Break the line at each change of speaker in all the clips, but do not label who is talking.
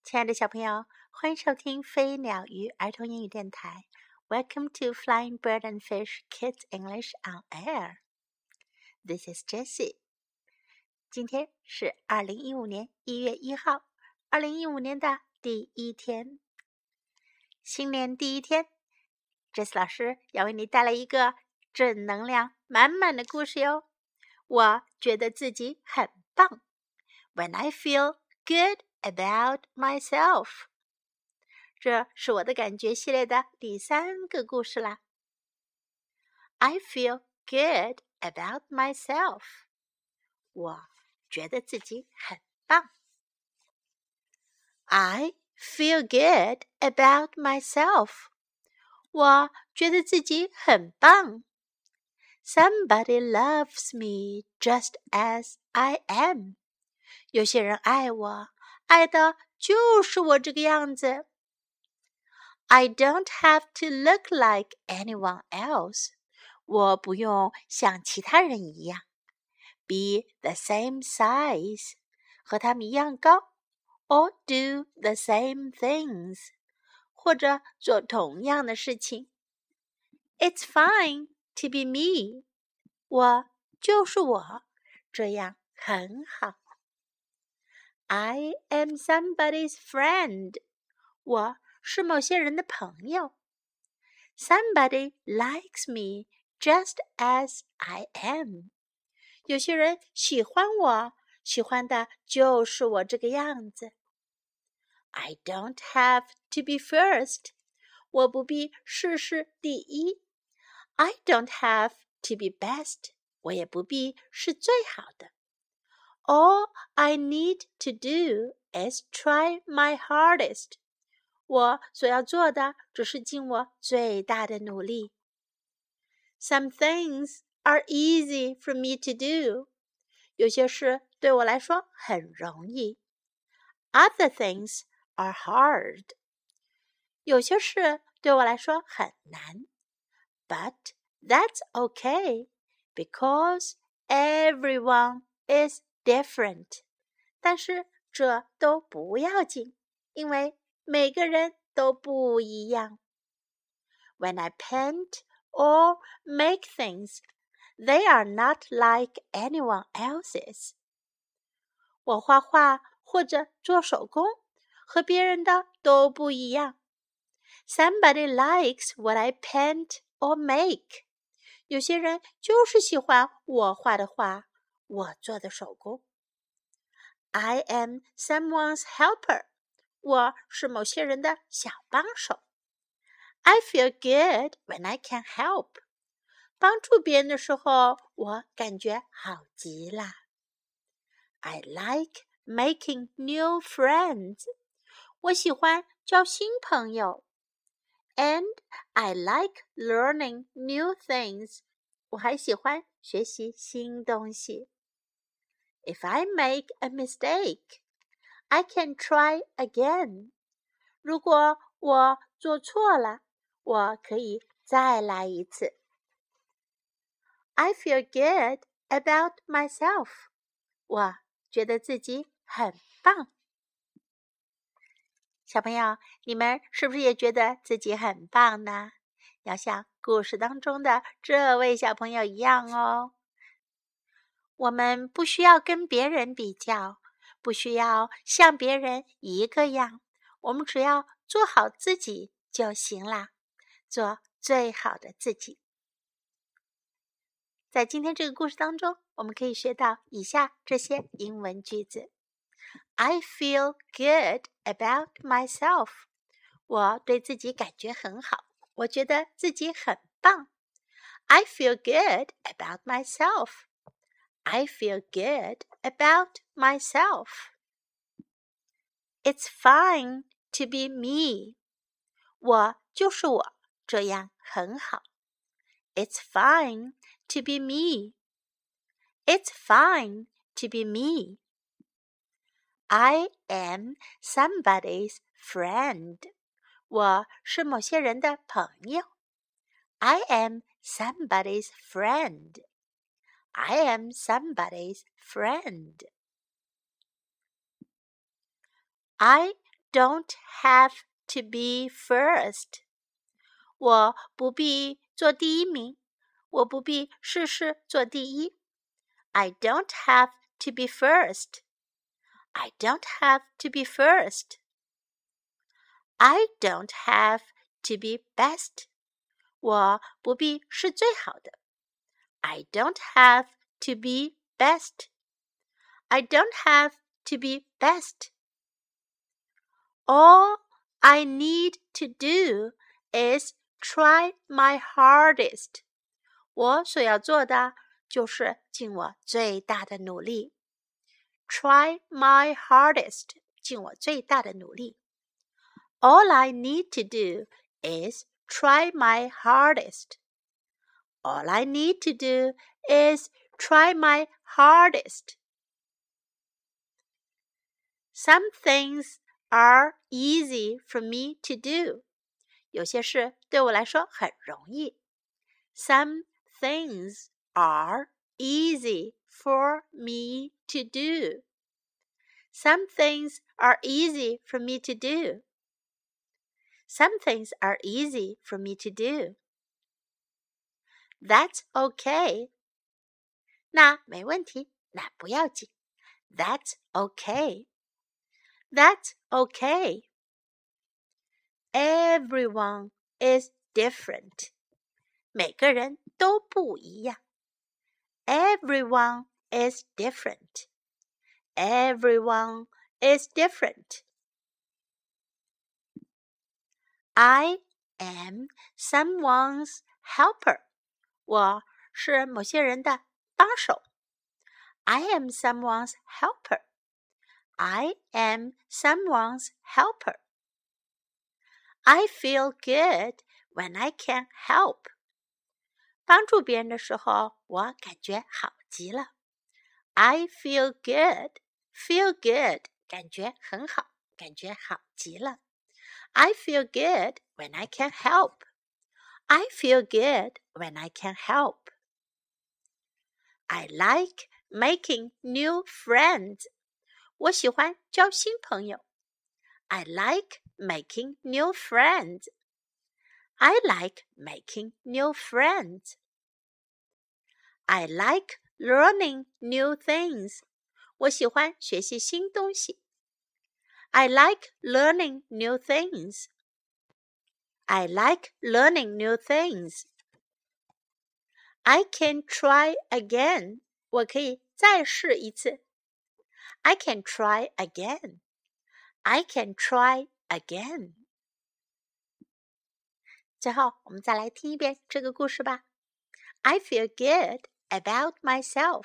亲爱的小朋友，欢迎收听飞鸟鱼儿童英语电台。Welcome to Flying Bird and Fish Kids English on Air. This is Jessie. 今天是2015年1月1号，2015年的第一天。新年第一天 ，Jessie 老师要为你带来一个正能量满满的故事哟。我觉得自己很棒。When I feel good about myself. 这是我的感觉系列的第3个故事啦。I feel good about myself. 我觉得自己很棒。I feel good about myself. 我觉得自己很棒。Somebody loves me just as I am. 有些人爱我，爱的就是我这个样子。I don't have to look like anyone else. 我不用像其他人一样。Be the same size. 和他们一样高。Or do the same things. 或者做同样的事情。It's fine to be me. 我就是我，这样很好。I am somebody's friend. 我是某些人的朋友。Somebody likes me just as I am. 有些人喜欢我，喜欢的就是我这个样子。I don't have to be first. 我不必事事第一。I don't have to be best. 我也不必是最好的。All I need to do is try my hardest. 我所要做的只是尽我最大的努力。Some things are easy for me to do. 有些事对我来说很容易。Other things are hard. 有些事对我来说很难。But that's okay, because everyone is different. 但是这都不要紧，因为每个人都不一样。When I paint or make things, they are not like anyone else's. 我画画或者做手工，和别人的都不一样。Somebody likes what I paint or make. 有些人就是喜欢我画的画，我做的手工。I am someone's helper. 我是某些人的小帮手。I feel good when I can help. 帮助别人的时候，我感觉好极了。I like making new friends. 我喜欢交新朋友。And I like learning new things. 我还喜欢学习新东西。If I make a mistake, I can try again. 如果我做错了，我可以再来一次。I feel good about myself. 我觉得自己很棒。小朋友，你们是不是也觉得自己很棒呢？要像故事当中的这位小朋友一样哦。我们不需要跟别人比较，不需要像别人一个样，我们只要做好自己就行啦，做最好的自己。在今天这个故事当中，我们可以学到以下这些英文句子。I feel good about myself. 我对自己感觉很好，我觉得自己很棒。I feel good about myself. I feel good about myself. It's fine to be me. 我就是我，这样很好。It's fine to be me. It's fine to be me. I am somebody's friend. 我是某些人的朋友。I am somebody's friend. I am somebody's friend. I don't have to be first. 我不必做第一名，我不必事事做第一。I don't have to be first. I don't have to be first. I don't have to be best. 我不必是最好的。I don't have to be best. I don't have to be best. All I need to do is try my hardest. 我所要做的就是尽我最大的努力。Try my hardest. 尽我最大的努力。All I need to do is try my hardest. All I need to do is try my hardest. Some things are easy for me to do. 有些事对我来说很容易。Some things are easy for me to do. Some things are easy for me to do. Some things are easy for me to do. That's okay. 那没问题，那不要紧。That's okay. That's okay. Everyone is different. 每个人都不一样。Everyone is different. Everyone is different. I am someone's helper. 我是某些人的帮手。I am someone's helper. I am someone's helper. I feel good when I can help. 帮助别人的时候，我感觉好极了。I feel good. Feel good. 感觉很好，感觉好极了。I feel good when I can help. I feel good when I can help. I like making new friends. 我喜欢交新朋友。I like making new friends. I like making new friends. I like learning new things. 我喜欢学习新东西。I like learning new things. I like learning new things. I can try again. 我可以再试一次。I can try again. I can try again. 最后，我们再来听一遍这个故事吧。I feel good about myself.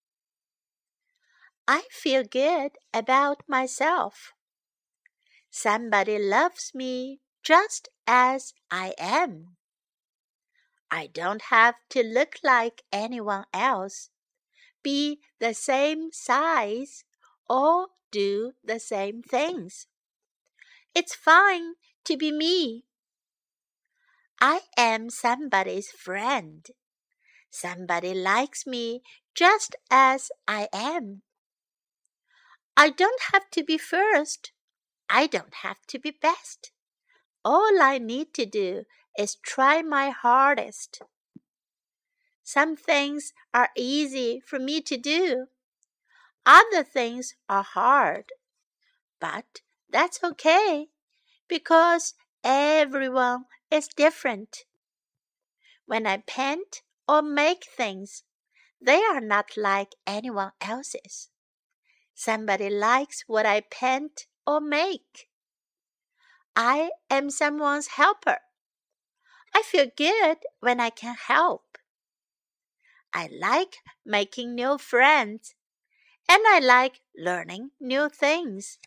I feel good about myself. Somebody loves me just as I am. I don't have to look like anyone else, be the same size, or do the same things. It's fine to be me. I am somebody's friend. Somebody likes me just as I am. I don't have to be first. I don't have to be best. All I need to do is try my hardest. Some things are easy for me to do. Other things are hard. But that's okay, because everyone is different. When I paint or make things, they are not like anyone else's. Somebody likes what I paint or make. I am someone's helper. I feel good when I can help. I like making new friends, and I like learning new things.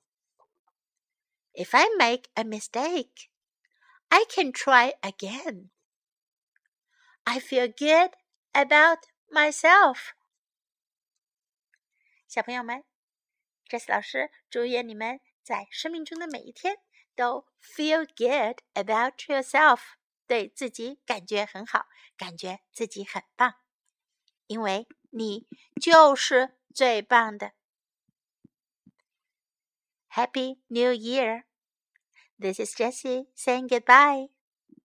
If I make a mistake, I can try again. I feel good about myself. 小朋友们，这次老师祝愿你们在生命中的每一天都 feel good about yourself， 对自己感觉很好，感觉自己很棒，因为你就是最棒的。 Happy New Year! This is Jessie saying goodbye.